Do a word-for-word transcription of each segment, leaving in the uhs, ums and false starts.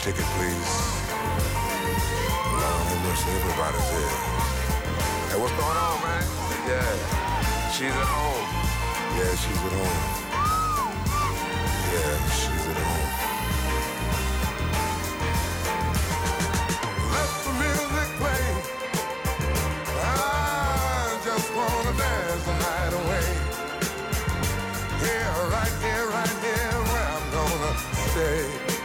ticket, please. Lord have mercy, everybody's here. Hey, what's going on, man? Yeah, she's at home. Yeah, she's at home. Yeah, she's at home. Let the music play. I just wanna dance the night away. Here, right here, right here, where I'm gonna stay.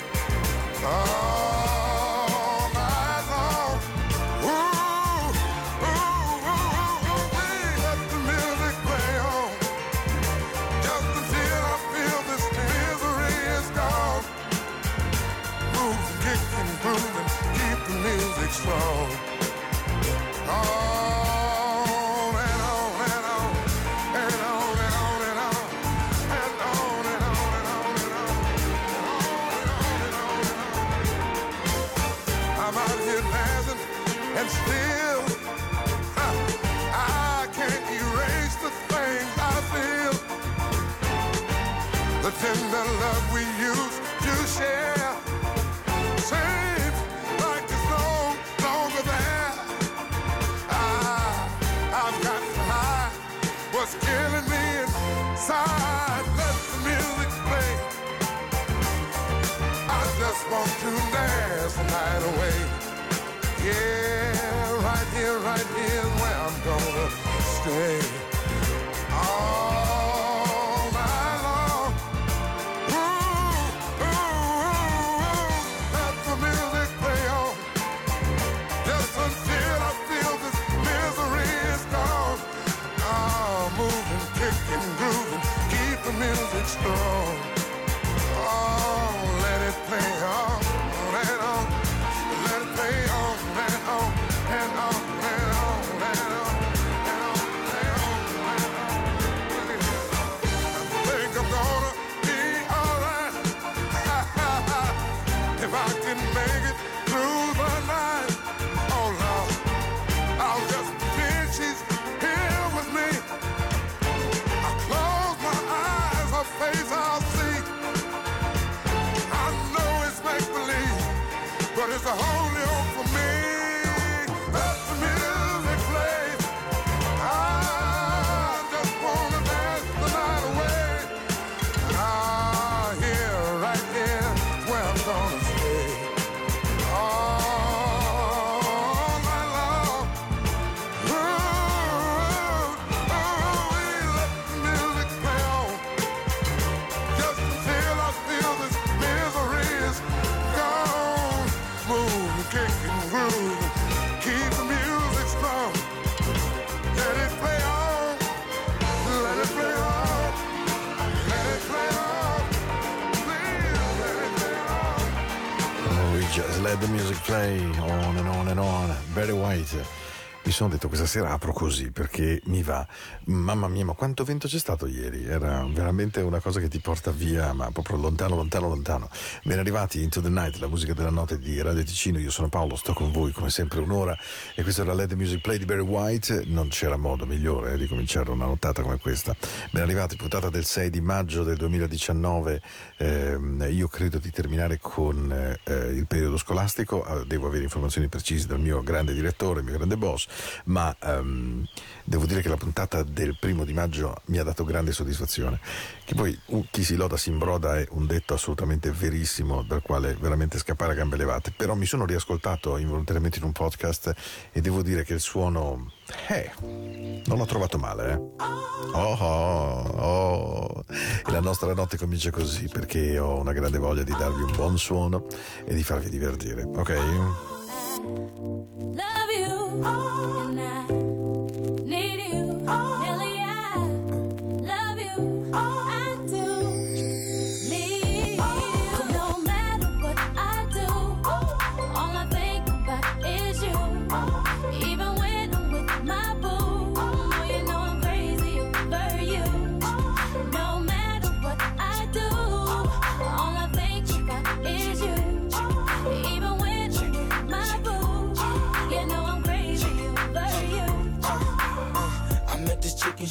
All night long. Ooh, ooh, ooh, ooh, ooh, let the music play on. Just until I feel this misery is gone. Move, kick and groove and keep the music strong. On and on and on and on and on and on and on and on and on and on and on and on and on. I'm out here dancing and still huh, I can't erase the things I feel. The tender love we used to share seems like it's no longer there. I've got to hide what's killing me inside. Let the music play. I just want to dance the night away. Yeah, right here, right here is where I'm gonna stay. All night long. Ooh, ooh, ooh, let the music play on. Just until I feel this misery is gone. Oh, moving, kicking, grooving, keep the music strong. Oh, let it play on and on. Let it play on and on and on and on and on and on and on and on. I think I'm gonna be alright if I can make it through the night. Oh Lord, I'll just pretend she's here with me. I close my eyes, her face I'll see. I know it's make-believe, but it's the only hope for me. Let the music play. I just wanna dance the night away. Ah, here, right here, where I'm gonna stay. All night long. Ooh, ooh, ooh, let the music play on. Just until I feel this misery is gone. Move, kick and groove, keep the music strong. Let it play on, let it play on, let it play on, please let it play on. Oh, we just let the music play on and on and on. Barry White. Mi sono detto questa sera apro così perché mi va. Mamma mia, ma quanto vento c'è stato ieri, era veramente una cosa che ti porta via, ma proprio lontano lontano lontano. Ben arrivati, Into the Night, la musica della notte di Radio Ticino. Io sono Paolo, sto con voi come sempre un'ora e questo era Let the Music Play di Barry White. Non c'era modo migliore eh, di cominciare una nottata come questa. Ben arrivati, puntata del sei di maggio del duemiladiciannove. Eh, io credo di terminare con eh, il periodo scolastico. Devo avere informazioni precise dal mio grande direttore, il mio grande boss, ma um, devo dire che la puntata del primo di maggio mi ha dato grande soddisfazione. Che poi uh, chi si loda si imbroda è un detto assolutamente verissimo, dal quale veramente scappare a gambe levate. Però mi sono riascoltato involontariamente in un podcast e devo dire che il suono eh, non l'ho trovato male, eh. Oh, oh, oh. E la nostra notte comincia così perché ho una grande voglia di darvi un buon suono e di farvi divertire, ok? Love you, and I need you, Nelly, I love you, I do need you. No matter what I do, all I think about is you. Even when I'm with my boo, oh, you know I'm crazy over you. No matter what I do, all I think about is you. Even when I'm with my boo, you know I'm crazy over you.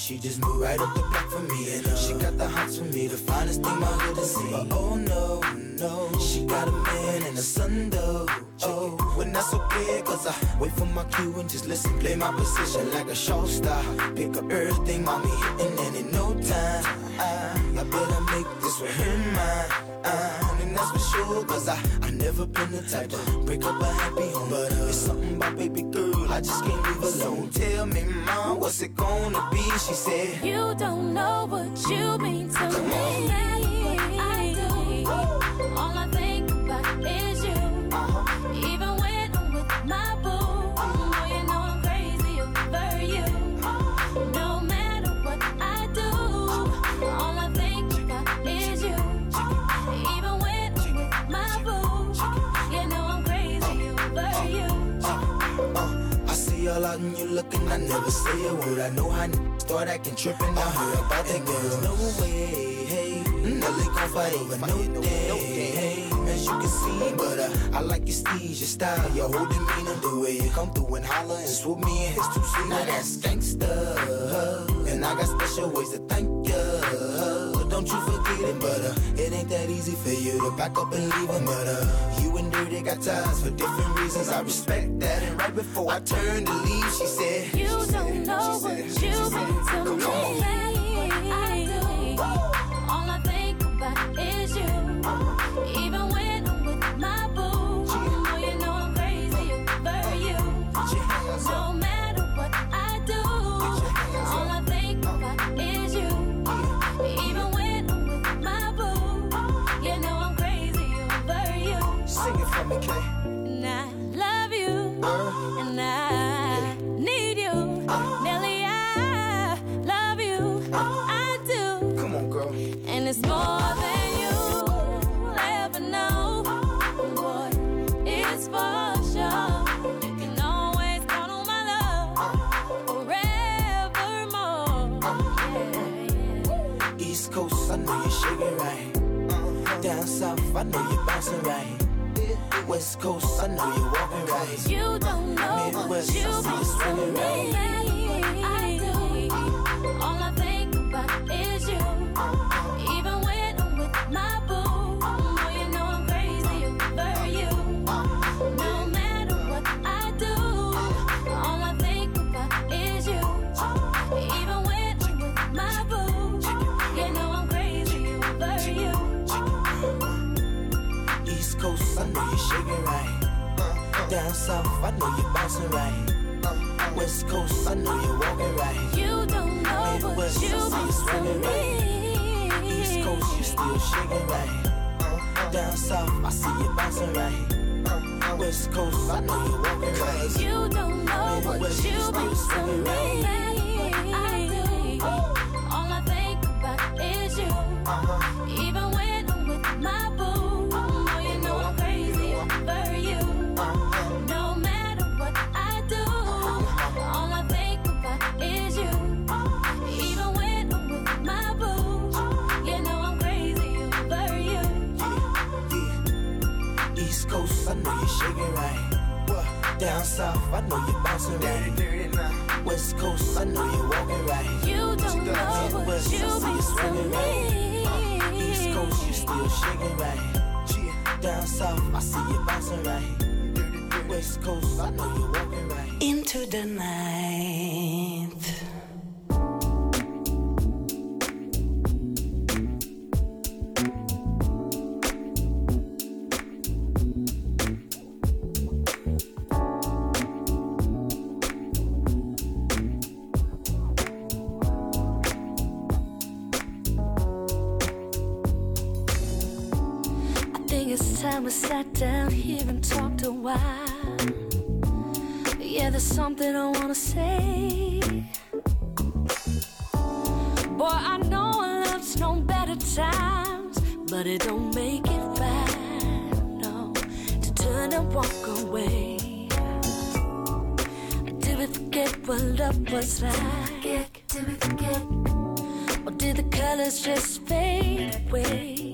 she just moved right up the block for me. And uh, she got the hots for me, the finest thing my hood has seen. But oh no, no, she got a man and a son though. Oh, when that's okay, cause I wait for my cue and just listen, play my position like a show star. Pick up everything, mommy, hitting, and in no time, I, I better make this with her mine. Uh, and that's for sure, cause I, I never been the type to break up a happy home. But uh, it's something about baby girl, I just can't leave alone. Tell me, mom, what's it gonna be? She said, you don't know what you mean to Come me. on. I do. All I think about is you. uh-huh. Even when I'm with my boo, oh, you know I'm crazy over you. No matter what I do, all I think about is you. Even when I'm with my boo, you know I'm crazy over you. Uh, I see all out and you looking, I never say a word. I know how n- start acting trippin'. I heard about that girl. No way, hey, Nelly gon' fight over no day, hey. As you can see, but uh, I like your steez, your style, your whole demeanor, the way you come through and holler and swoop me in his two seat. Now that's gangsta, and I got special ways to thank ya. Don't you forget it, but uh, it ain't that easy for you to back up and leave him. But uh, you and Dirty got ties for different reasons. I respect that. And right before I turned to leave, she said, You don't know what you mean to me. I do. All I think about is you. Even when I'm with my boo, oh, you know I'm crazy over you. No matter what I do, all I think about is you. Even when I'm with my boo, you know I'm crazy over you. Sing it for me, Kay. And I love you, and I need you. Nelly, I love you, I do. Come on, girl. And it's more than you'll ever know. Boy, it's for sure. You can always count on my love forevermore. Yeah, yeah. East Coast, I know you're shaking right. Down south, I know you're bouncing right. West Coast, I know you're walking right. You don't know what Midwest, you I see you mean swinging to right. me. I do. All I think about is you. Even when I'm with my boo, oh, you know I'm crazy over you. No matter what I do, all I think about is you. Even when I'm with my boo, you know I'm crazy over you. East Coast, I know you're shaking right. Down south, I know you're bouncing right. West Coast, I know you're walking right. You don't know what Midwest, you I see you mean swinging to right. me. East Coast, you still shaking right. Down south, I see you bouncing right. West Coast, I know you're walking right. You don't know what Midwest, you you still mean to swinging me. right. I do. All I think about is you. Even when I'm with my boo, oh, you know I'm crazy over you. No matter what I do, all I think about is you. Even when I'm with my boo, you know I'm crazy over you. Yeah. East Coast, I know you're shaking right. Down south, I know you're bouncing right. West Coast, I know you're walking right. You don't know what Midwest, you I see you mean to swinging right. me. East Coast, you still shaking right. Down south, I see you bouncing right. West Coast, I know you're walking right. Into the night. It's time we sat down here and talked a while. Yeah, there's something I wanna say. Boy, I know love's known better times, but it don't make it right, no, to turn and walk away. Did we forget what love was like? Did we forget? Or did the colors just fade away?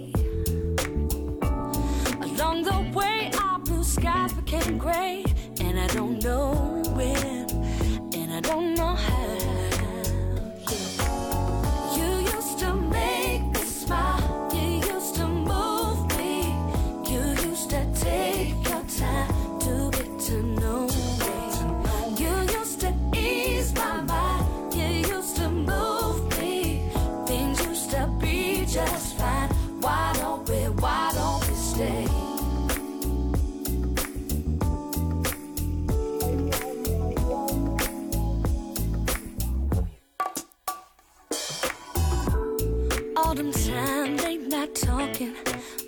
Along the way, our blue skies became gray, and I don't know when, and I don't know how. Yeah.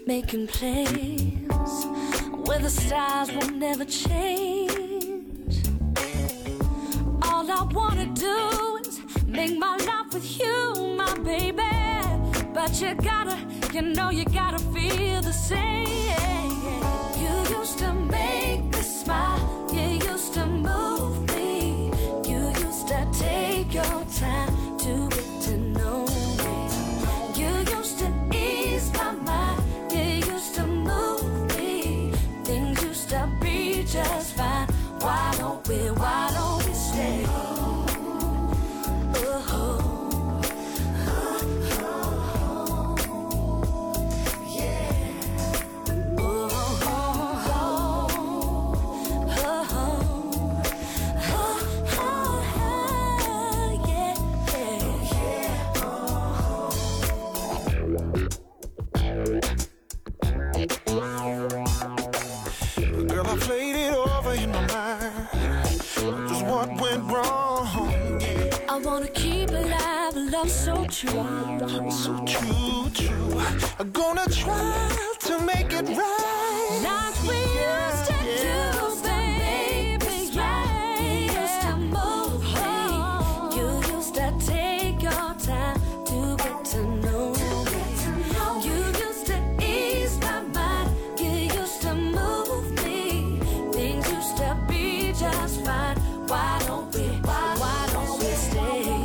making plans where the stars will never change. All I wanna do is make my life with you, my baby. But you gotta, you know you gotta feel the same. You used to make me smile, you used to move me, you used to take your time to get to know me. You used to ease my mind, you used to move me, things used to be just fine. Why don't we, why don't we stay? So true, so true, true. I'm gonna try to make it right, like we used to do, baby. Yeah, you used to move me, you used to take your time to get to know me. You used to ease my mind, you used to move me, things used to be just fine. Why don't we, why, why don't we stay?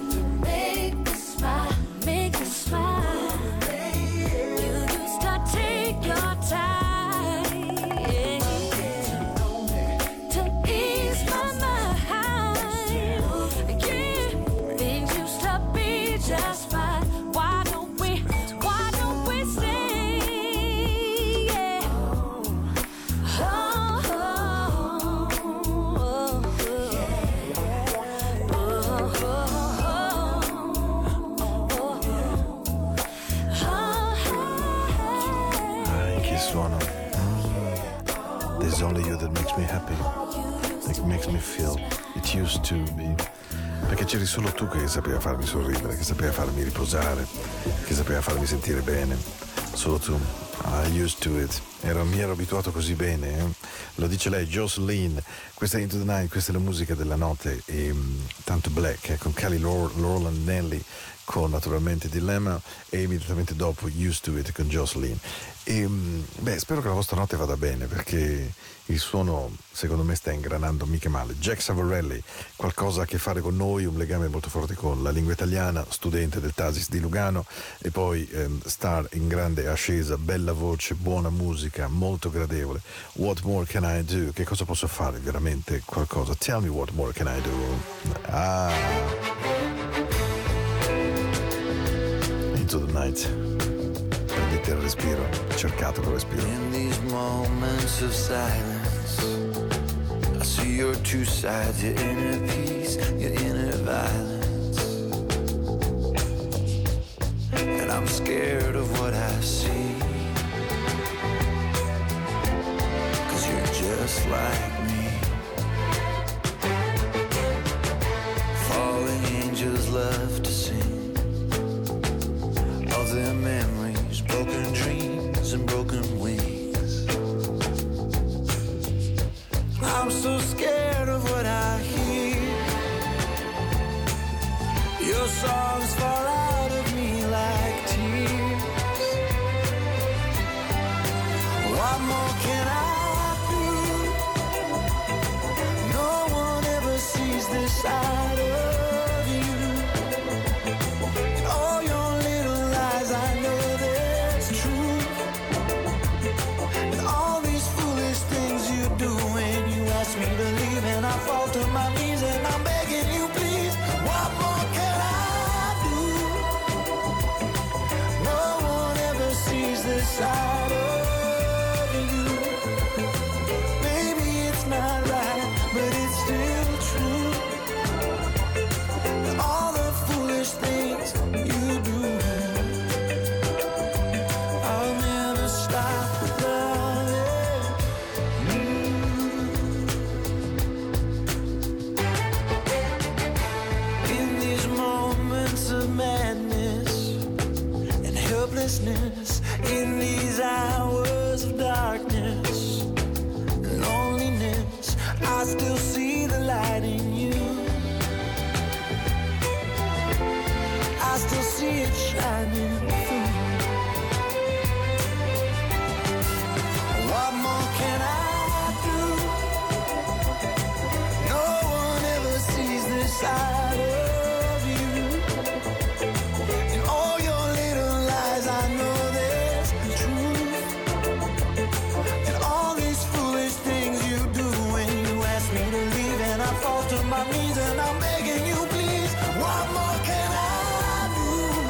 There's only you that makes me happy, that makes me feel it used to be. Perché c'eri solo tu che sapeva farmi sorridere, che sapeva farmi riposare, che sapeva farmi sentire bene. Solo tu. I used to it. Ero, mi ero abituato così bene. Eh? Lo dice lei, Jocelyn. Questa è Into the Night, questa è la musica della notte. E um, tanto Black, eh, con Kelly Rowland Nelly, con naturalmente Dilemma, e immediatamente dopo Used to It con Jocelyn. E beh, spero che la vostra notte vada bene, perché il suono secondo me sta ingranando mica male. Jack Savarelli, qualcosa a che fare con noi, un legame molto forte con la lingua italiana, studente del Tasis di Lugano, e poi ehm, star in grande ascesa, bella voce, buona musica, molto gradevole. What more can I do? Che cosa posso fare? Veramente qualcosa. Tell me what more can I do? Ah, Into the Night. Prendete il respiro, cercato quel respiro. In these moments of silence, I see your two sides, your inner peace, your inner violence. And I'm scared of what I see, 'cause you're just like me. Falling angels love to sing of their memories, broken dreams and broken wings. I'm so scared of what I hear. Your songs fall out of me like tears. What more can I do? No one ever sees this side of you. All your little lies, I know there's truth. And all these foolish things you do when you ask me to leave, and I fall to my knees and I'm begging you, please. What more can I do? No one ever sees this side of you. Maybe it's not right, but it's still true. And all the foolish things you do, I'll never stop loving you. In these moments of madness and helplessness, in these still see the light in you. I still see it shining through. What more can I do? No one ever sees this side of you. In all your little lies, I know there's truth. And all these foolish things you do when you ask me to leave, and I fall to my knees and I'm begging you, please. What more can I do?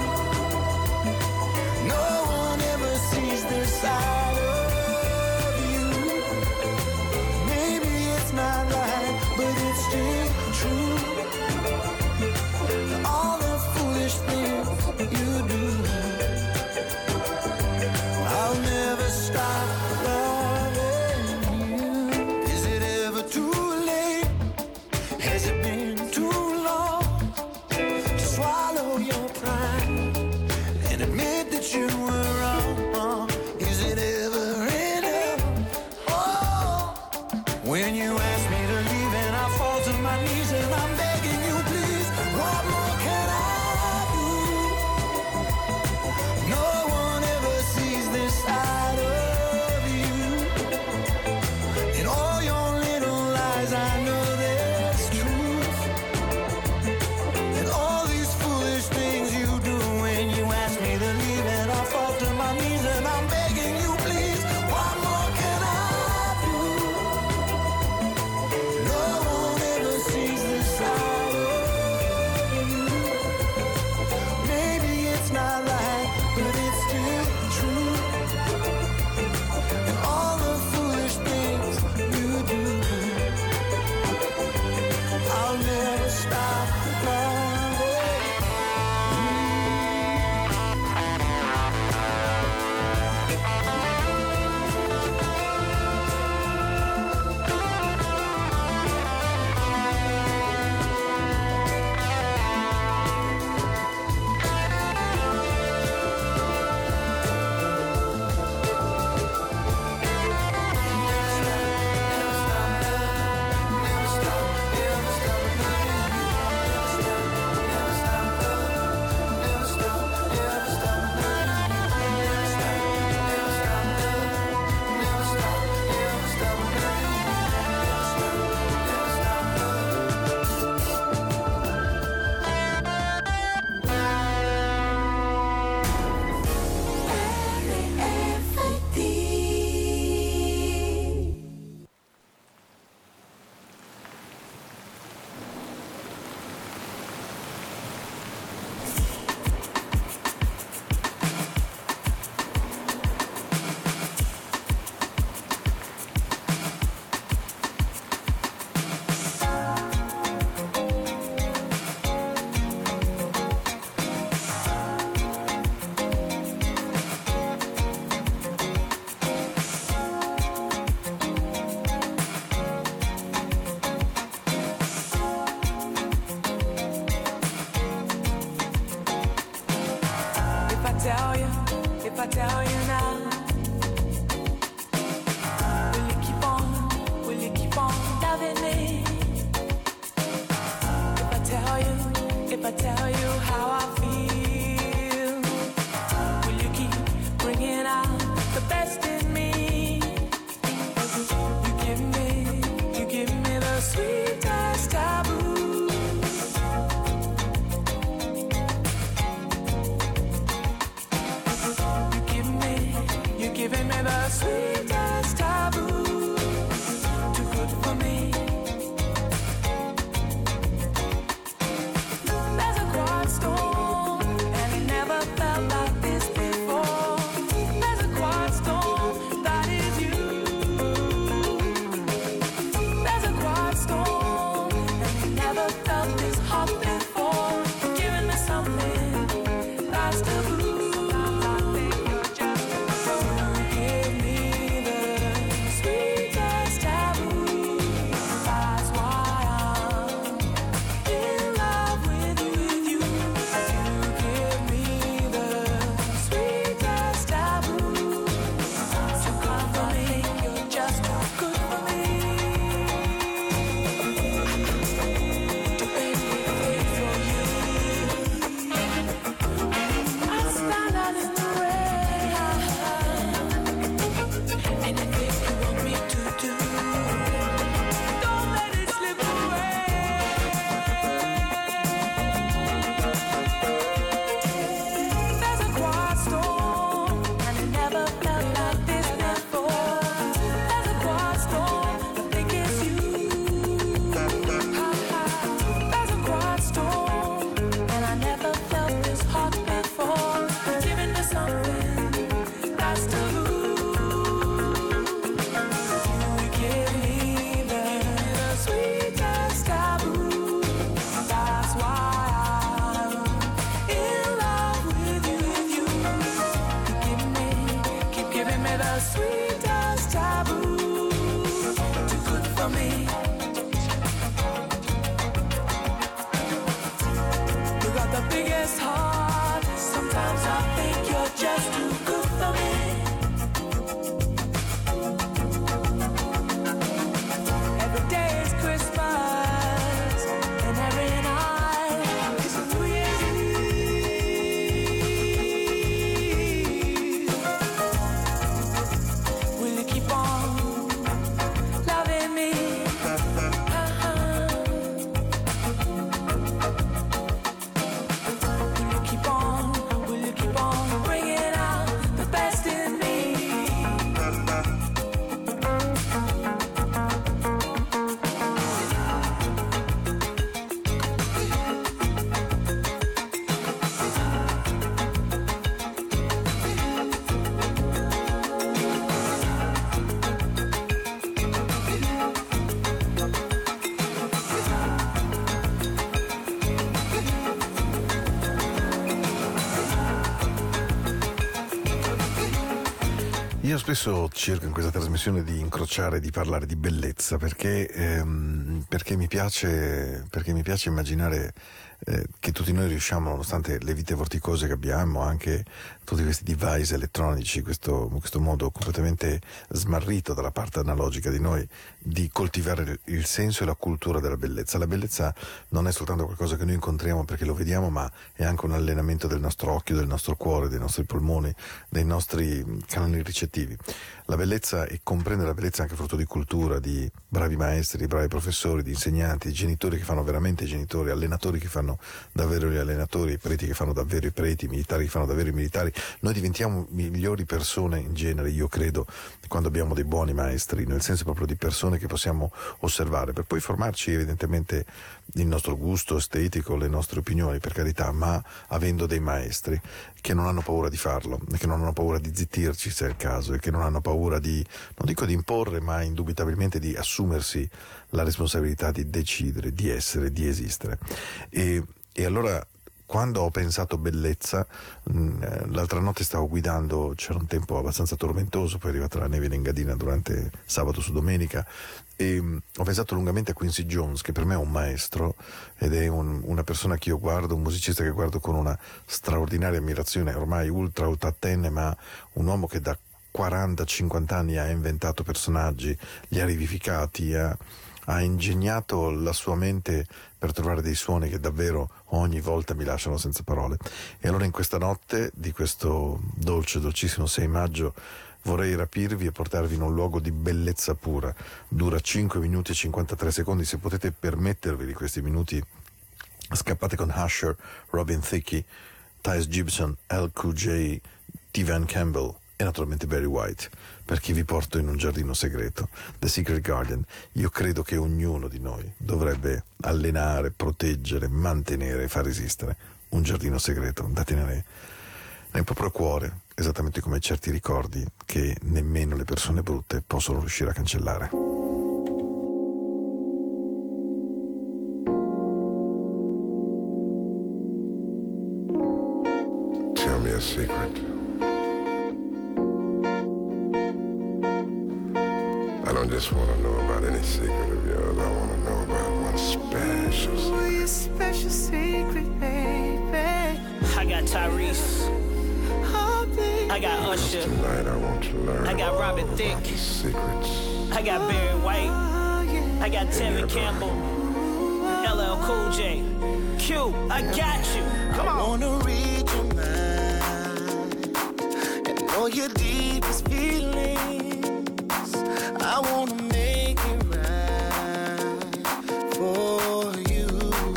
No one ever sees this side of you. Maybe it's not right, but it's still true. All the foolish things you do, I'll never stop loving you. Is it ever too late? Has it been too long to swallow your pride and admit that you were wrong? Is it ever enough? Oh, when you ask me to leave and I fall to my knees and I'm begging you, please. What more can I do? No one ever sees this side of you. In all your little lies, I know there's truth. And all these foolish things you do when you ask me to leave, and I fall to my knees and I'm begging you, please. What more can I do? No one ever sees this side of you. Maybe it's not right, but it's still true. And all the foolish things you do, I'll never stop loving you. If I tell you, if I tell you now, will you keep on, will you keep on loving me? If I tell you, if I tell you how I feel, will you keep bringing out the best in me? You give me, you give me the sweetest taboo. Giving me the sweetest taboo, too good for me. There's a quiet storm, and it never felt like this before. There's a quiet storm, that is you. There's a quiet storm, and it never felt this hot before. You're giving me something that's taboo. Give me the sweetest taboo. for me. You got the biggest heart. Sometimes I think you're just too good for me. Every day is Christmas, and every night is a New Year's Eve. Will you keep on loving me? Uh-huh. Will you keep on, will you keep on bringing out the best in me? Io spesso cerco in questa trasmissione di incrociare, di parlare di bellezza, perché, ehm, perché mi piace, perché mi piace immaginare eh, che tutti noi riusciamo, nonostante le vite vorticose che abbiamo, anche tutti questi device elettronici, questo, questo modo completamente smarrito dalla parte analogica di noi, di coltivare il senso e la cultura della bellezza. La bellezza non è soltanto qualcosa che noi incontriamo perché lo vediamo, ma è anche un allenamento del nostro occhio, del nostro cuore, dei nostri polmoni, dei nostri canali ricettivi. La bellezza, e comprendere la bellezza è anche frutto di cultura, di bravi maestri, di bravi professori, di insegnanti, di genitori che fanno veramente i genitori, allenatori che fanno davvero gli allenatori, preti che fanno davvero i preti, militari che fanno davvero i militari. Noi diventiamo migliori persone in genere, io credo, quando abbiamo dei buoni maestri, nel senso proprio di persone che possiamo osservare, per poi formarci evidentemente il nostro gusto estetico, le nostre opinioni, per carità, ma avendo dei maestri che non hanno paura di farlo, che non hanno paura di zittirci se è il caso, e che non hanno paura di, non dico di imporre, ma indubitabilmente di assumersi la responsabilità di decidere, di essere, di esistere. E, e allora, quando ho pensato bellezza, mh, l'altra notte stavo guidando, c'era un tempo abbastanza tormentoso, poi è arrivata la neve in Engadina durante sabato su domenica, e mh, ho pensato lungamente a Quincy Jones, che per me è un maestro ed è un, una persona che io guardo, un musicista che guardo con una straordinaria ammirazione, ormai ultra ottantenne, ma un uomo che da quaranta cinquanta anni ha inventato personaggi, li ha rivificati, ha, ha ingegnato la sua mente per trovare dei suoni che davvero ogni volta mi lasciano senza parole. E allora in questa notte di questo dolce, dolcissimo sei maggio vorrei rapirvi e portarvi in un luogo di bellezza pura. Dura cinque minuti e cinquantatré secondi, se potete permettervi di questi minuti scappate con Usher, Robin Thicke, Tyrese Gibson, L Cool J, T. Van Campbell e naturalmente Barry White, perché vi porto in un giardino segreto, The Secret Garden. Io credo che ognuno di noi dovrebbe allenare, proteggere, mantenere e far esistere un giardino segreto da tenere nel proprio cuore, esattamente come certi ricordi che nemmeno le persone brutte possono riuscire a cancellare. Tell me a secret. I don't just want to know about any secret of yours. I want to know about one special secret. Oh, your special secret, baby. I got Tyrese. Oh, baby. I got Usher. Tonight I want to learn I got Robin all Thicke. about the secrets. I got Barry White. Oh, yeah. I got Tevin Campbell. L L Cool J. Q, I got you. Come I on. wanna read your mind and know your deepest feelings. I wanna make it right for you.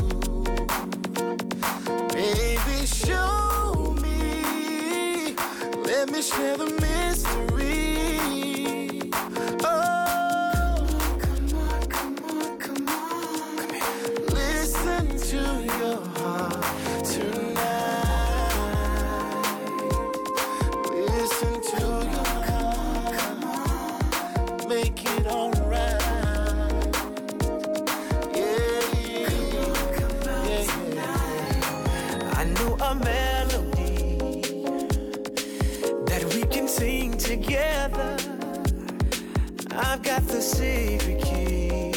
Baby, show me. Let me share the mystery. Oh, come on, come on, come on. Come here. Listen to your heart tonight. Listen to your heart. Come on, make it alright. Yeah, yeah, yeah, yeah. I know a melody that we can sing together. I've got the secret key.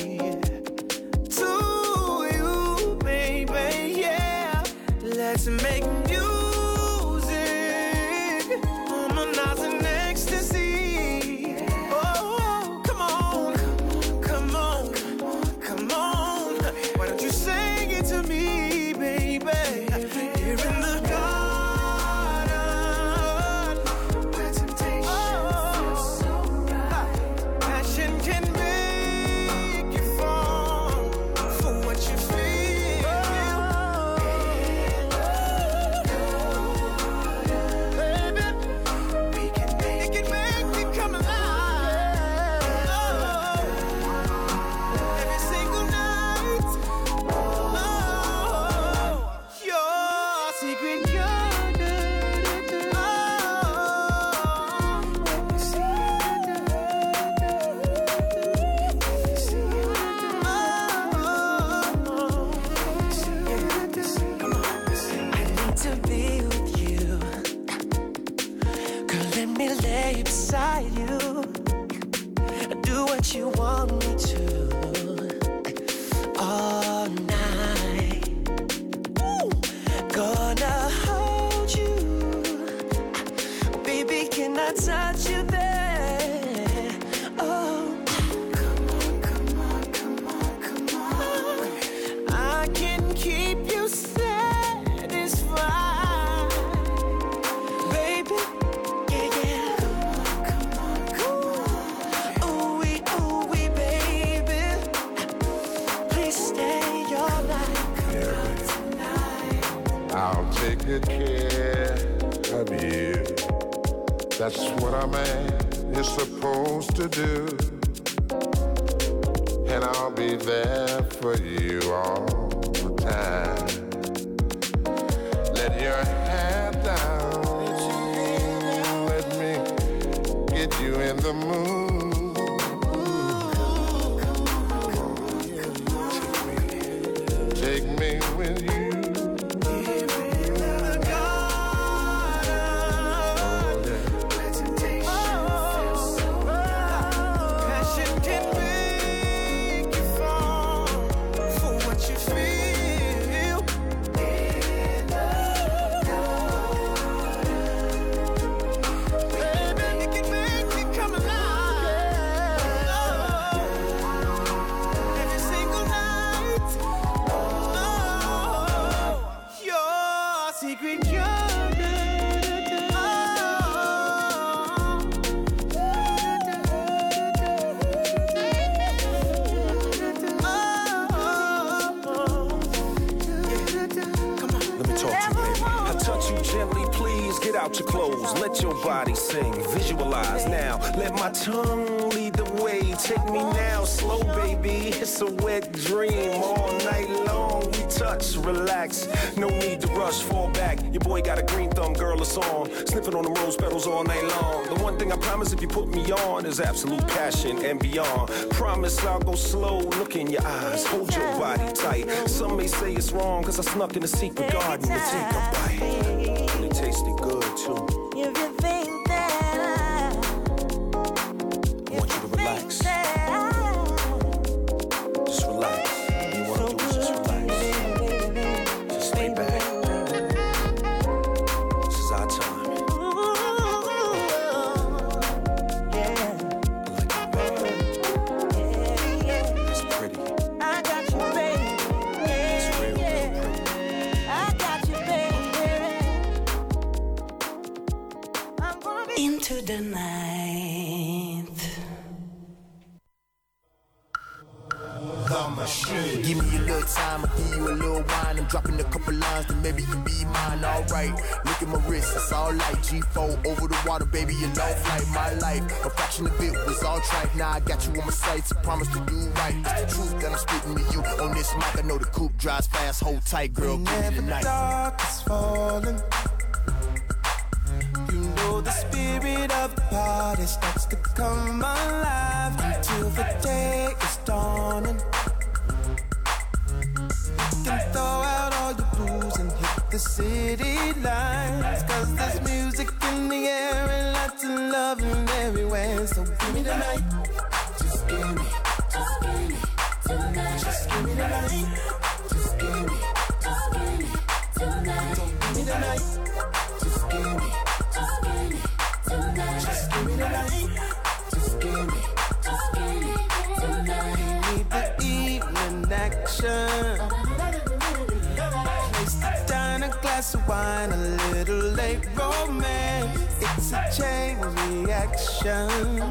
I'll take good care of you. That's what a man is supposed to do. And I'll be there for you all the time. Let your head down. Let me get you in the mood. Take me with you. Your clothes, let your body sing, visualize now, let my tongue lead the way, take me now, slow baby, it's a wet dream, all night long, we touch, relax, no need to rush, fall back, your boy got a green thumb, girl, it's on, sniffing on the rose petals all night long, the one thing I promise if you put me on is absolute passion and beyond, promise I'll go slow, look in your eyes, hold your body tight, some may say it's wrong, cause I snuck in the secret garden to take a bite, and it tasted good. If you think that I, I want you to relax, just relax. You want to do is just relax. Just lay back. This is our time. Yeah. I like you, baby. Yeah, yeah. It's pretty. I got you, baby. Yeah, it's real, yeah. Real pretty. I got you, baby. Into the night. The machine. Give me a little time, I'll give you a little wine. I'm dropping a couple lines, then maybe you be mine. Alright, look at my wrist, it's all light. G four over the water, baby, you know flight. My life, a fraction of it was all tripe. Now I got you on my sights, I promise to do right. It's the truth that I'm spitting to you. On this mic, I know the coupe drives fast, hold tight, girl, give me the night. Dark is falling. You know the spirit of the party starts to come alive until the day is dawning. You can throw out all your blues and hit the city lights, cause there's music in the air and lots of loving everywhere. So give me the night, just give me, just give me tonight. Just give me the night, just give me, just give me tonight. Don't give me the night, just give me. Just give me the night. Just give me, just give me tonight. Need the evening action. Place the down a glass of wine, a little late romance. It's a chain reaction.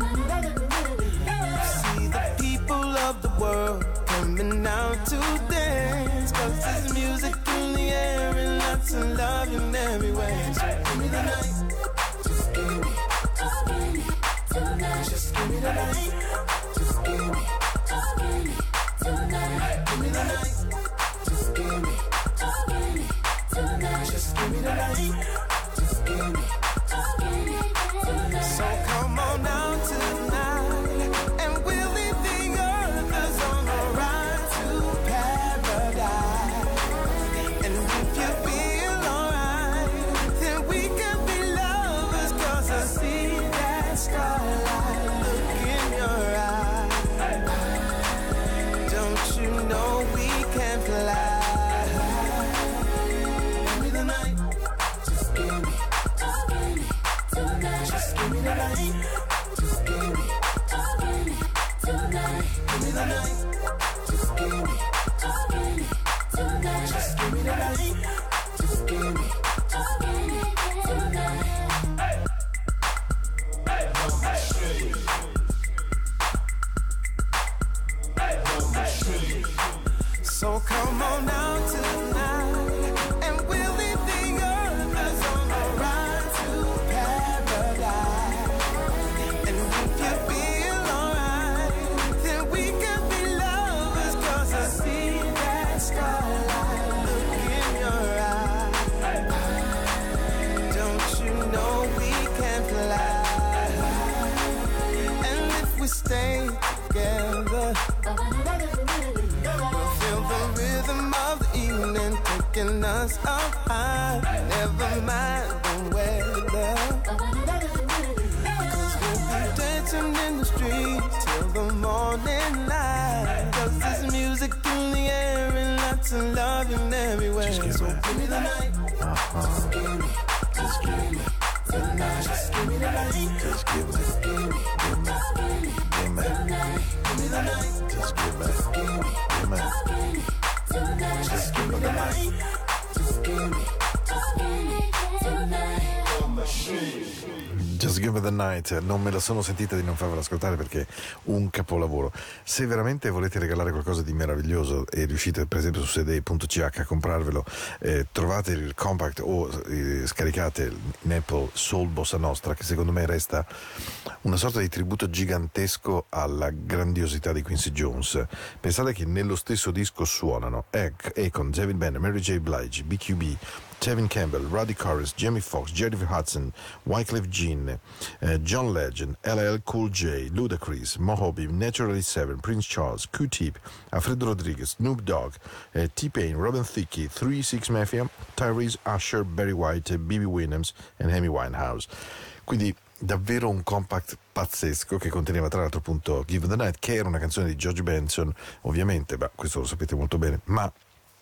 See the people of the world coming out to dance, cause there's music in the air and lots of love in everywhere. So give me the night. Just give me, just give me tonight. Just give me the night. Just give me, just give me tonight. Give me the night. Just give me, just give me tonight. Just give me the night. Just give me, just give me tonight. So come on down tonight, and we'll leave the others on the ride to paradise. And if you feel alright, then we can be lovers, cause I see that starlight look in your eyes. Don't you know we can fly? Give me the night. Just give me, just give me tonight. Just give me the night. Just give me, just give me tonight. Give me the night. Just give me, just give me tonight. Just give me the night. Just give me, just give me tonight. So come on down tonight, and we'll leave taking us up high. Never mind the weather, 'cause we'll be dancing in the streets till the morning light. 'Cause there's music in the air and lots of loving everywhere. So give me the night. Just give me, just give me the night. Just give me the night. Just give me, just give me, give me, give me, give me the night. Just give me, give me, give me, just give me the night. Just give me, just give me the night. Just Give Me The Night, non me la sono sentita di non farvela ascoltare perché è un capolavoro. Se veramente volete regalare qualcosa di meraviglioso e riuscite per esempio su cd punto c h a comprarvelo, eh, trovate il compact o eh, scaricate in Apple Soul Bossa Nostra, che secondo me resta una sorta di tributo gigantesco alla grandiosità di Quincy Jones. Pensate che nello stesso disco suonano Akon, David Banner, Mary J. Blige, B Q B, Tevin Campbell, Roddy Corris, Jamie Foxx, Jennifer Hudson, Wyclef Jean, eh, John Legend, L L Cool J, Ludacris, Mojave, Naturally Seven, Prince Charles, Q-Tip, Alfredo Rodriguez, Snoop Dogg, eh, T-Pain, Robin Thicke, three six Mafia, Tyrese, Usher, Barry White, B B Williams e Amy Winehouse. Quindi davvero un compact pazzesco che conteneva tra l'altro appunto Give the Night, che era una canzone di George Benson, ovviamente, beh, questo lo sapete molto bene, ma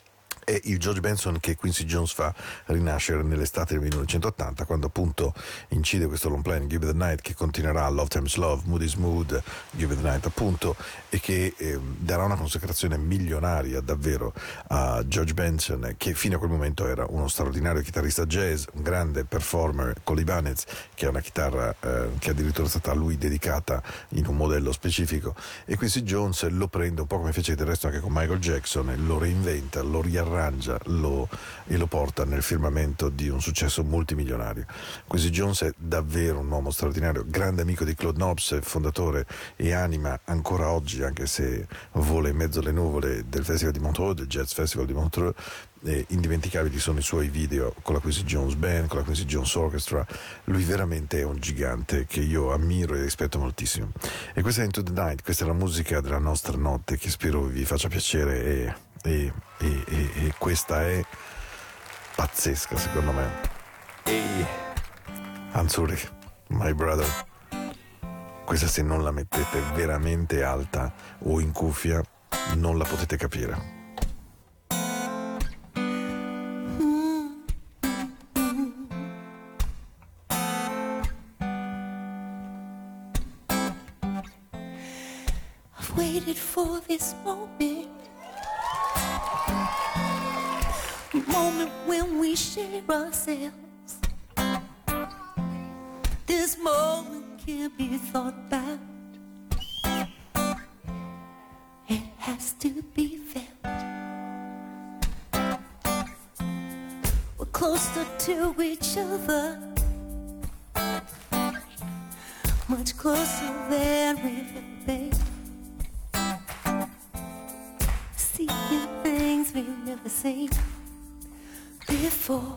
è il George Benson che Quincy Jones fa rinascere nell'estate del millenovecentottanta, quando appunto incide questo long play Give the Night, che continuerà Love Times Love, Moody's Mood, Give the Night appunto, e che eh, darà una consacrazione milionaria davvero a George Benson, che fino a quel momento era uno straordinario chitarrista jazz, un grande performer con l'Ibanez, che è una chitarra eh, che addirittura è stata a lui dedicata in un modello specifico, e Quincy Jones lo prende un po' come fece del resto anche con Michael Jackson, e lo reinventa, lo riarrangia Lo, e lo porta nel firmamento di un successo multimilionario. Quincy Jones è davvero un uomo straordinario, grande amico di Claude Nobs, fondatore e anima ancora oggi, anche se vola in mezzo alle nuvole, del Festival di Montreux, del Jazz Festival di Montreux. E indimenticabili sono i suoi video con la Quincy Jones Band, con la Quincy Jones Orchestra. Lui veramente è un gigante che io ammiro e rispetto moltissimo. E questa è Into the Night, questa è la musica della nostra notte, che spero vi faccia piacere, e E, e, e, e questa è pazzesca secondo me. E Anzuri, my brother, questa se non la mettete veramente alta o in cuffia non la potete capire. I've waited for this moment, moment when we share ourselves. This moment can't be thought about. It has to be felt. We're closer to each other, much closer than we've ever been. Seeing things we've never seen before.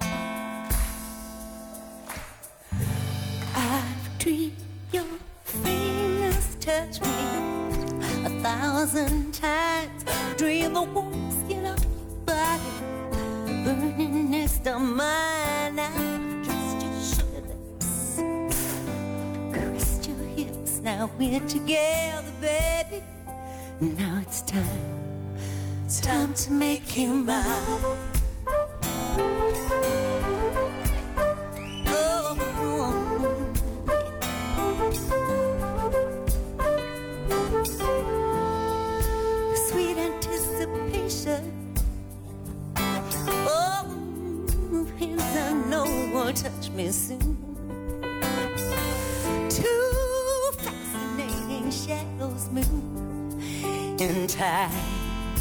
I've dreamed your fingers touch me a thousand times. Dream the warm skin of your body burning next to mine. I've kissed your sugar lips, caressed your hips. Now we're together, baby. Now it's time, it's time to make you mine. Sweet anticipation. Oh, hands I know will touch me soon. Two fascinating shadows move in time.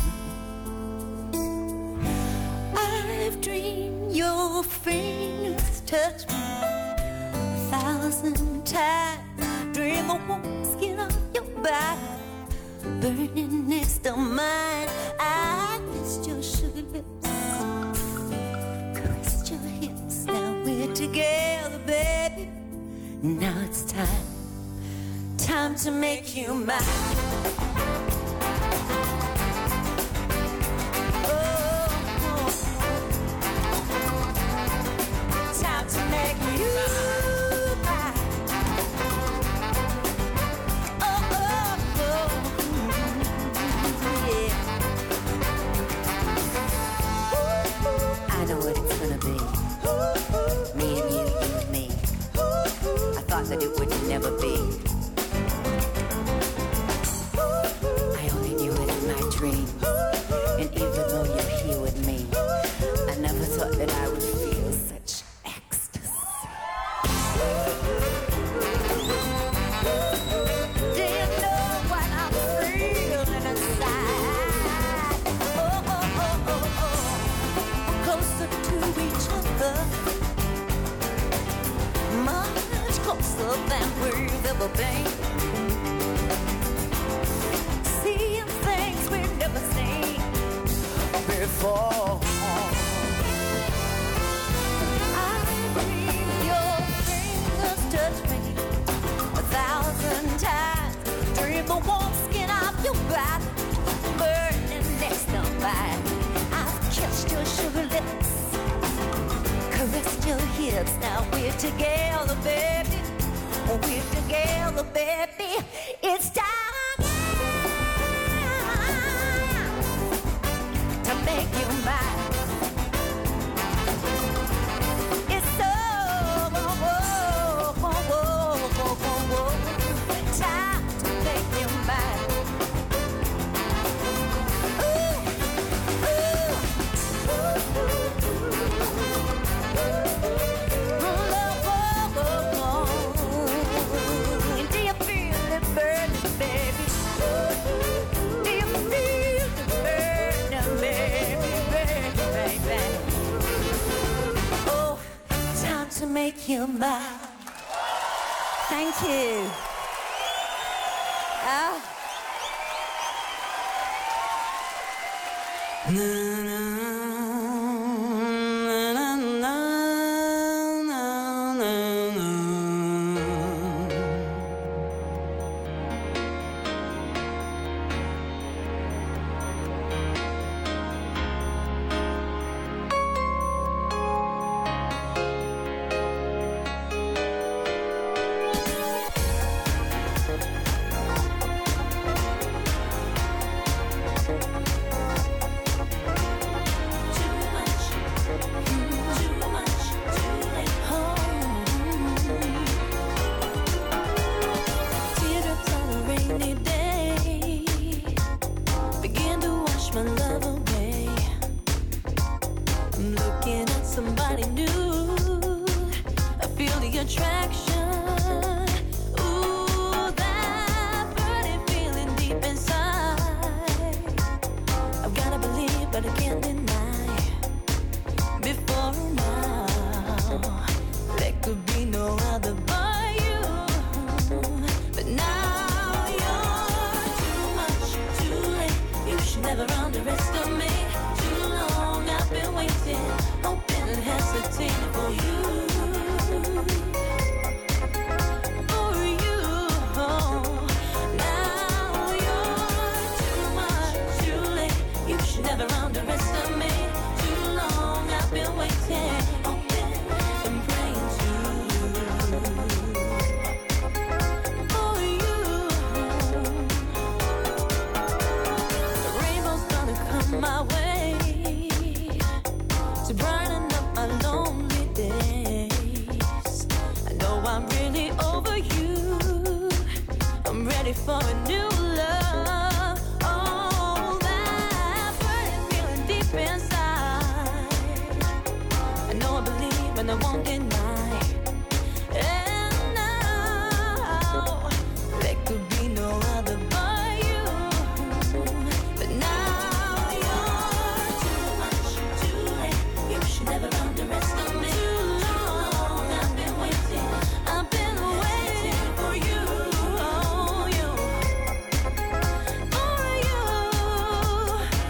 I've dreamed your fingers touch me a thousand times. Dream the warm skin of your body burning next to mine. I kissed your sugar lips, caressed your hips. Now we're together, baby. Now it's time, time to make you mine. Oh, oh, oh. never be. I only knew it in my dreams. And even though you're here with me, I never thought that I would feel such ecstasy. Do you know what I'm feeling inside? Oh, oh, oh, oh, oh. Closer to each other, much closer than we've ever been. Seeing things we've never seen before. I believe your fingers touch me a thousand times. Dream the warm skin of your body, burning next to mine. I've kissed your sugar lips, caressed your hips. Now we're together, baby. We're together, baby. It's time to make you mine. It's so whoa, whoa, whoa, whoa, whoa, whoa. Time to make you mine. Ooh, ooh, ooh, ooh. Do you feel it burning, baby? Do you feel it burning, baby, baby, baby? Oh, time to make you mine. Thank you. Ah.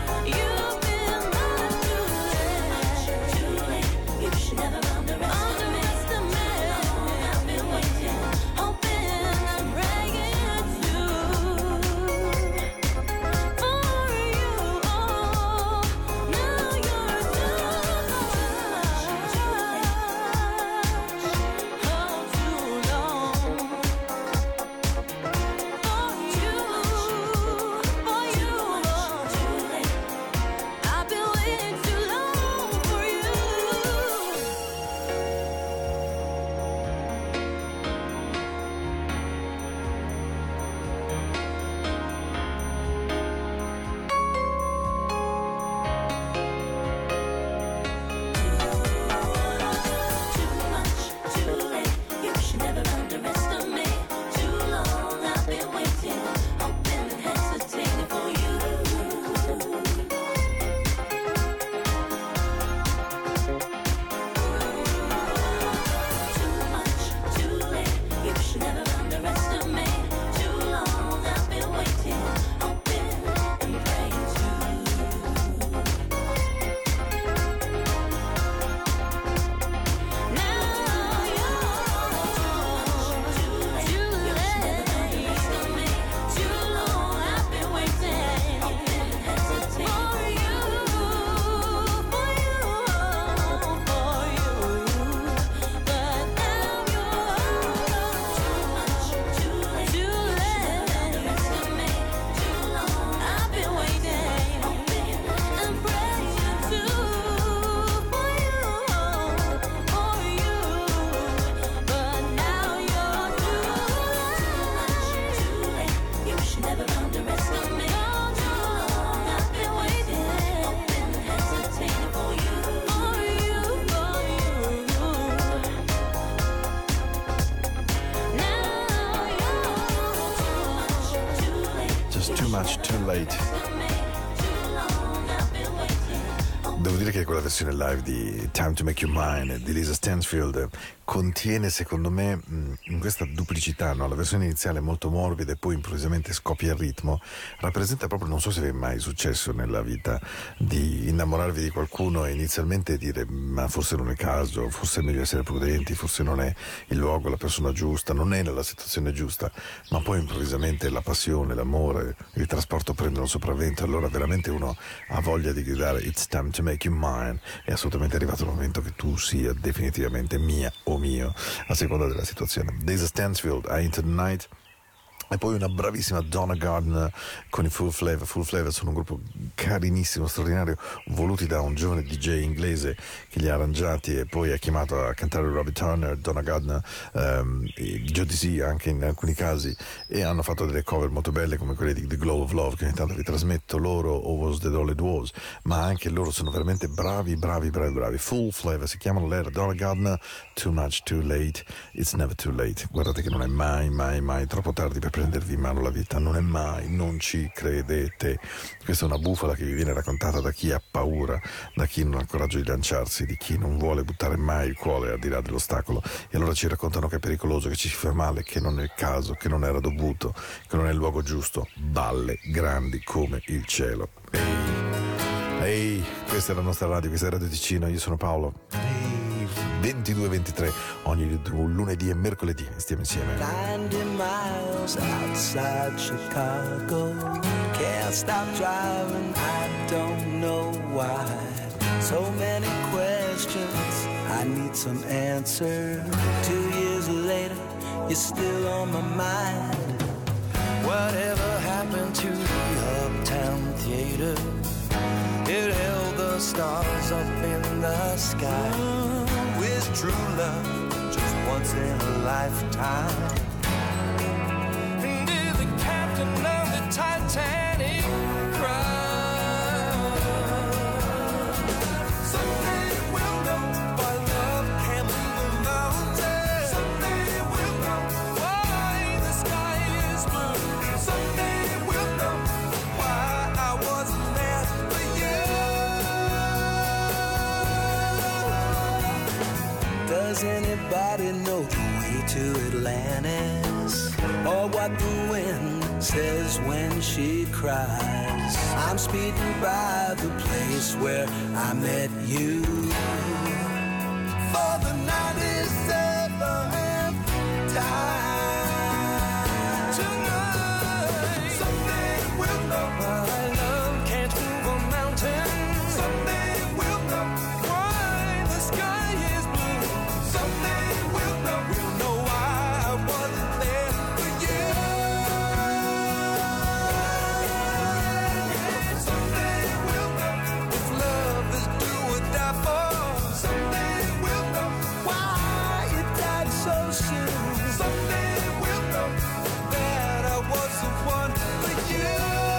Never round the rest of Late. Devo dire che quella versione live di Time to Make You Mine di Lisa Stansfield contiene, secondo me, in questa duplicità, no? La versione iniziale è molto morbida e poi improvvisamente scoppia il ritmo, rappresenta proprio, non so se vi è mai successo nella vita di innamorarvi di qualcuno e inizialmente dire ma forse non è il caso, forse è meglio essere prudenti, forse non è il luogo, la persona giusta, non è nella situazione giusta, ma poi improvvisamente la passione, l'amore, il trasporto prendono sopravvento, allora veramente uno ha voglia di gridare It's time to make you mine, è assolutamente arrivato il momento che tu sia definitivamente mia o mio, a seconda della situazione. Lisa Stansfield, I Into the Night. E poi una bravissima Donna Gardner con i Full Flavor. Full Flavor sono un gruppo carinissimo, straordinario, voluti da un giovane D J inglese che li ha arrangiati e poi ha chiamato a cantare Robbie Turner, Donna Gardner, um, Joe D C anche in alcuni casi, e hanno fatto delle cover molto belle come quelle di The Glow of Love che ogni tanto vi trasmetto loro, o Was That All It Was, ma anche loro sono veramente bravi, bravi, bravi, bravi. Full Flavor, si chiamano lei, Donna Gardner, Too Much Too Late, It's Never Too Late. Guardate che non è mai, mai, mai troppo tardi per prendervi in mano la vita, non è mai, non ci credete. Questa è una bufala che vi viene raccontata da chi ha paura, da chi non ha il coraggio di lanciarsi, di chi non vuole buttare mai il cuore al di là dell'ostacolo, e allora ci raccontano che è pericoloso, che ci si fa male, che non è il caso, che non era dovuto, che non è il luogo giusto. Balle grandi come il cielo. Ehi, ehi, questa è la nostra radio, questa è Radio Ticino, io sono Paolo. Ehi, ventidue ventitré ogni lunedì e mercoledì stiamo insieme. ninety miles outside Chicago, can't stop driving, I don't know why. So many questions, I need some answers. Two years later, you're still on my mind. Whatever happened to the Uptown Theater? It held the stars up in the sky. Where's true love, just once in a lifetime? And did the captain of the Titanic cry? Someday we'll know why love can't move a mountain. Someday we'll know why the sky is blue. Someday we'll know why I wasn't there for you. Does anybody know the way to Atlantis? Or what the wind says when she cries? I'm speeding by the place where I met you. For the ninety-seventh time. Tonight, someday we'll know why love can't move a mountain. Someday we'll know why the sky is blue. Someday we'll know, we'll know why I wasn't there for you. Someday we'll know if love is do or die for. Someday we'll know why it died so soon. Someday we'll know that I was the one for you.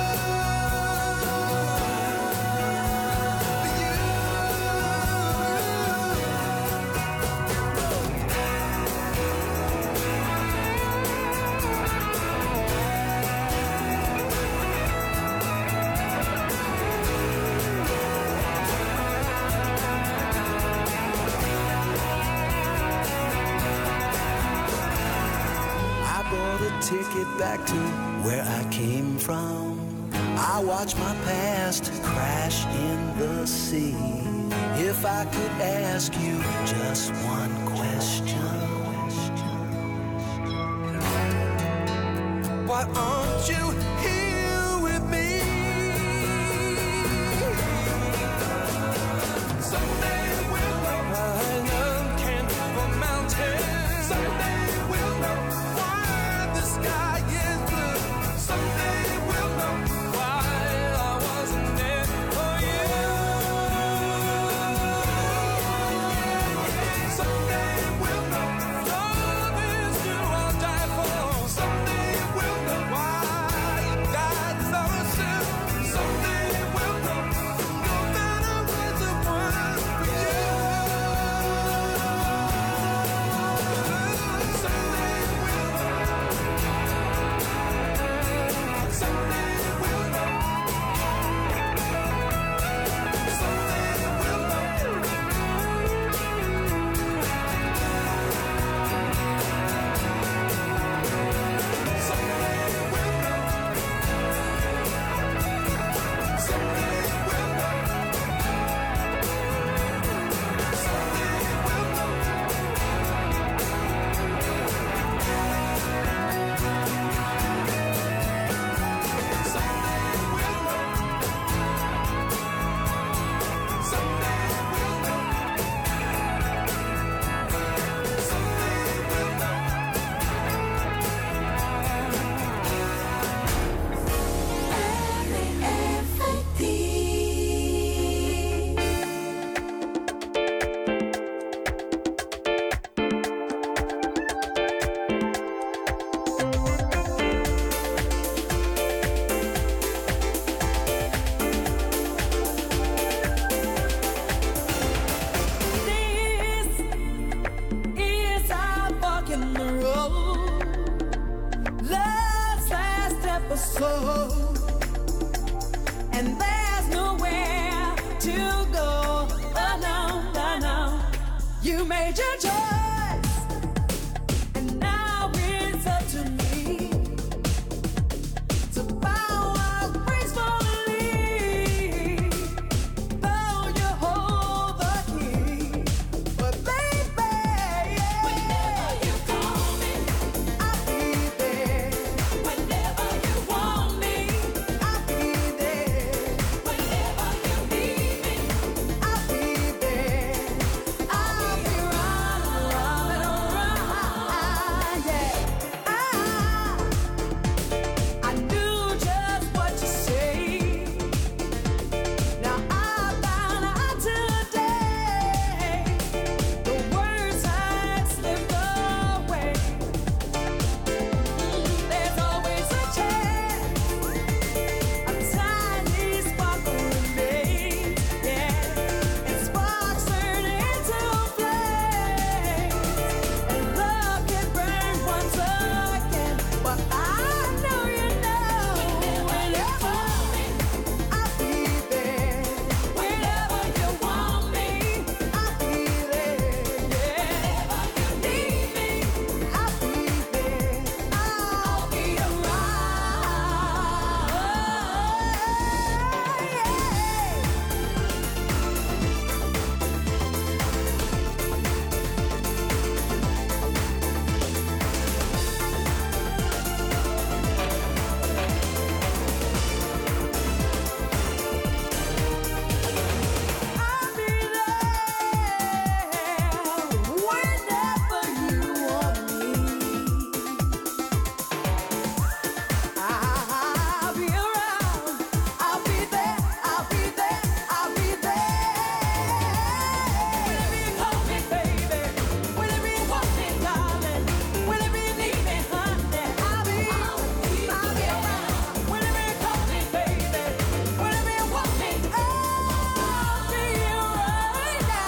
I bought a ticket back to where I came from. I watched my past crash in the sea. If I could ask you just one question, why aren't you here with me? Someday we'll know why love can't move a mountain. Someday we'll know why the sky is blue. Someday we'll know why I wasn't there for you. Someday we'll know love is do or die for. Someday we'll know why made your choice, and now it's up to me to bow out gracefully. Though you hold the key, but baby, whenever you call me, I'll be there. Whenever you want me, I'll be there. Whenever you need me, I'll be there. I'll be running, running around, yeah. I, I knew just what you say. Now I found out today the words had slipped away. There's always a chance, a tiny spark remains, yeah, and sparks turn into flames, and love can burn once again. But I know you know whenever I'll be there. Whenever you want me, I'll be there. Whenever you need me, I'll be there. I'll be I'll be there whenever you want me. I'll be around. I'll be there. I'll be there. I'll be there. Whenever you call me, baby. Whenever you want me, darling. Whenever you need me, honey. I'll be. I'll be around. Whenever you call me, baby. Whenever you want me, I'll be right now.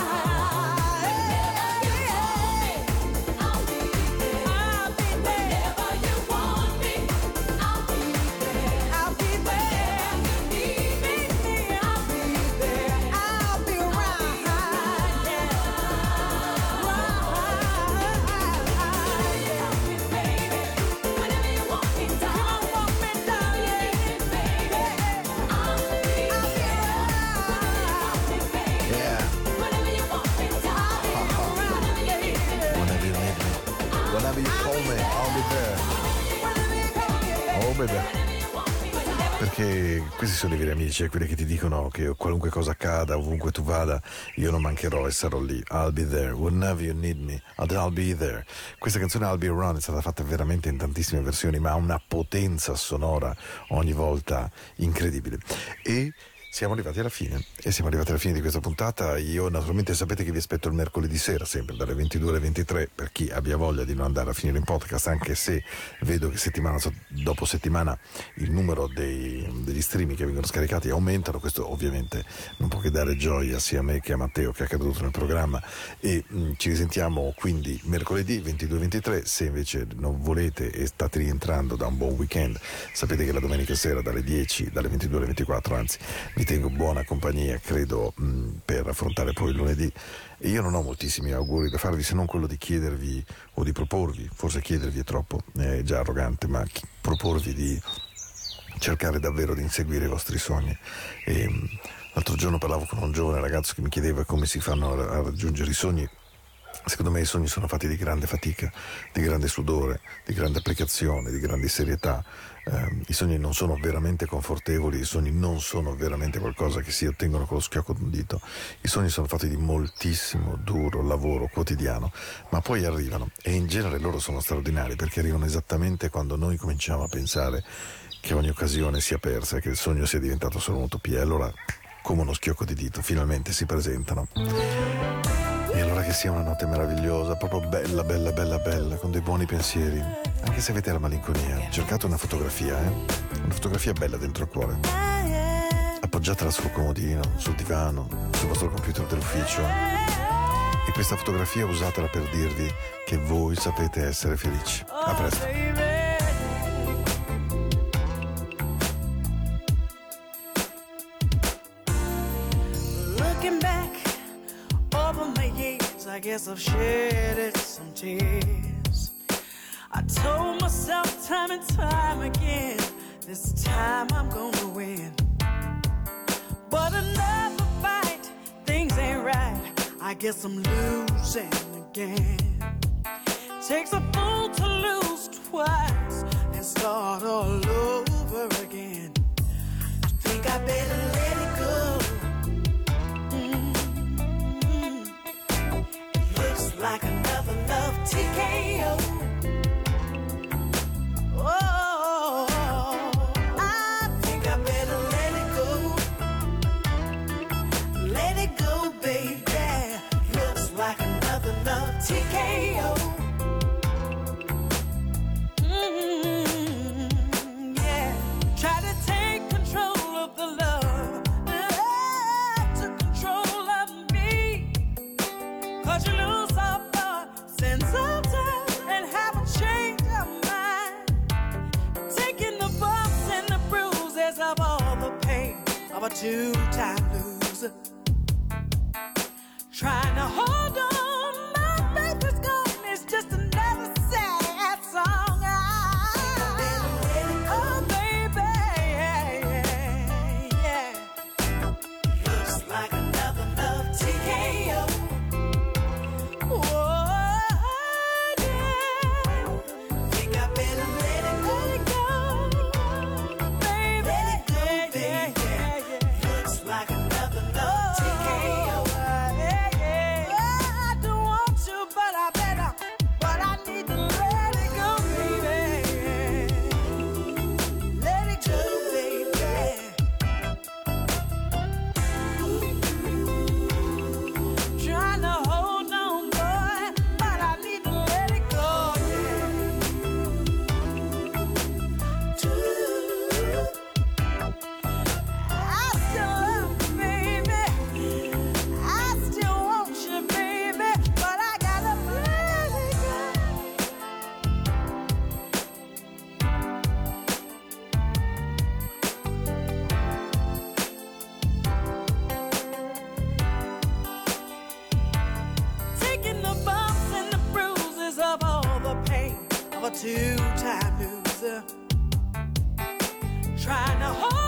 I'll be there. I'll be there. Whenever you want me, I'll be there. I'll be there. You need me, I'll be there. I'll be right, yeah. Right, baby. Whenever you want me, darling. Want me, darling. Baby, I'll be there. Yeah. Whenever you want me, darling. Whenever you need me. Whenever you need me, whenever you call me, I'll be there. Oh baby. Perché questi sono i veri amici, è quelli che ti dicono che qualunque cosa accada, ovunque tu vada, io non mancherò e sarò lì. I'll be there, whenever you need me, I'll be there. Questa canzone I'll Be Around è stata fatta veramente in tantissime versioni, ma ha una potenza sonora ogni volta incredibile. E siamo arrivati alla fine, e siamo arrivati alla fine di questa puntata. Io naturalmente sapete che vi aspetto il mercoledì sera, sempre dalle ventidue alle ventitré, per chi abbia voglia di non andare a finire in podcast, anche se vedo che settimana dopo settimana il numero dei, degli streaming che vengono scaricati aumentano. Questo ovviamente non può che dare gioia sia a me che a Matteo, che è accaduto nel programma, e mh, ci risentiamo quindi mercoledì ventidue ventitré. Se invece non volete e state rientrando da un buon weekend, sapete che la domenica sera dalle dieci, dalle ventidue alle ventiquattro, anzi vi tengo buona compagnia, credo, mh, per affrontare poi il lunedì. E io non ho moltissimi auguri da farvi, se non quello di chiedervi o di proporvi, forse chiedervi è troppo, è già arrogante, ma chi- proporvi di cercare davvero di inseguire i vostri sogni. E, mh, l'altro giorno parlavo con un giovane ragazzo che mi chiedeva come si fanno a, a raggiungere i sogni. Secondo me i sogni sono fatti di grande fatica, di grande sudore, di grande applicazione, di grande serietà. Eh, I sogni non sono veramente confortevoli, i sogni non sono veramente qualcosa che si ottengono con lo schiocco d'un dito. I sogni sono fatti di moltissimo duro lavoro quotidiano, ma poi arrivano, e in genere loro sono straordinari perché arrivano esattamente quando noi cominciamo a pensare che ogni occasione sia persa e che il sogno sia diventato solo un'utopia. E allora, come uno schiocco di dito, finalmente si presentano. E allora che sia una notte meravigliosa, proprio bella, bella, bella, bella, con dei buoni pensieri. Anche se avete la malinconia, cercate una fotografia, eh? Una fotografia bella dentro il cuore. Appoggiatela sul comodino, sul divano, sul vostro computer dell'ufficio. E questa fotografia usatela per dirvi che voi sapete essere felici. A presto. Looking back over my years, years, I guess I've shedded some tears. I told myself time and time again, this time I'm gonna win. But another fight, things ain't right, I guess I'm losing again. Takes a fool to lose twice and start all over again. Think I better let it go. Mm-hmm. It looks like another love T K O. Oh, I think I better let it go. Let it go, baby. Looks like another love T K O. A two-time loser, trying to hold on, my faith is gone. It's just another sad song. I, oh baby, yeah, yeah. Looks like another love T K O. Oh, yeah. Think I better let it go. Let it go, baby. Let it go, baby. Like another love T K O. Yeah, yeah. I don't want to, but I better. But I need to let it go, baby. Let it go, baby. Trying to hold on, boy, but I need to let it go, I still love you, baby. I still want you, baby, but I gotta let it go. Taking the bumps and the bruises of all the pain of a two-time loser, trying to hold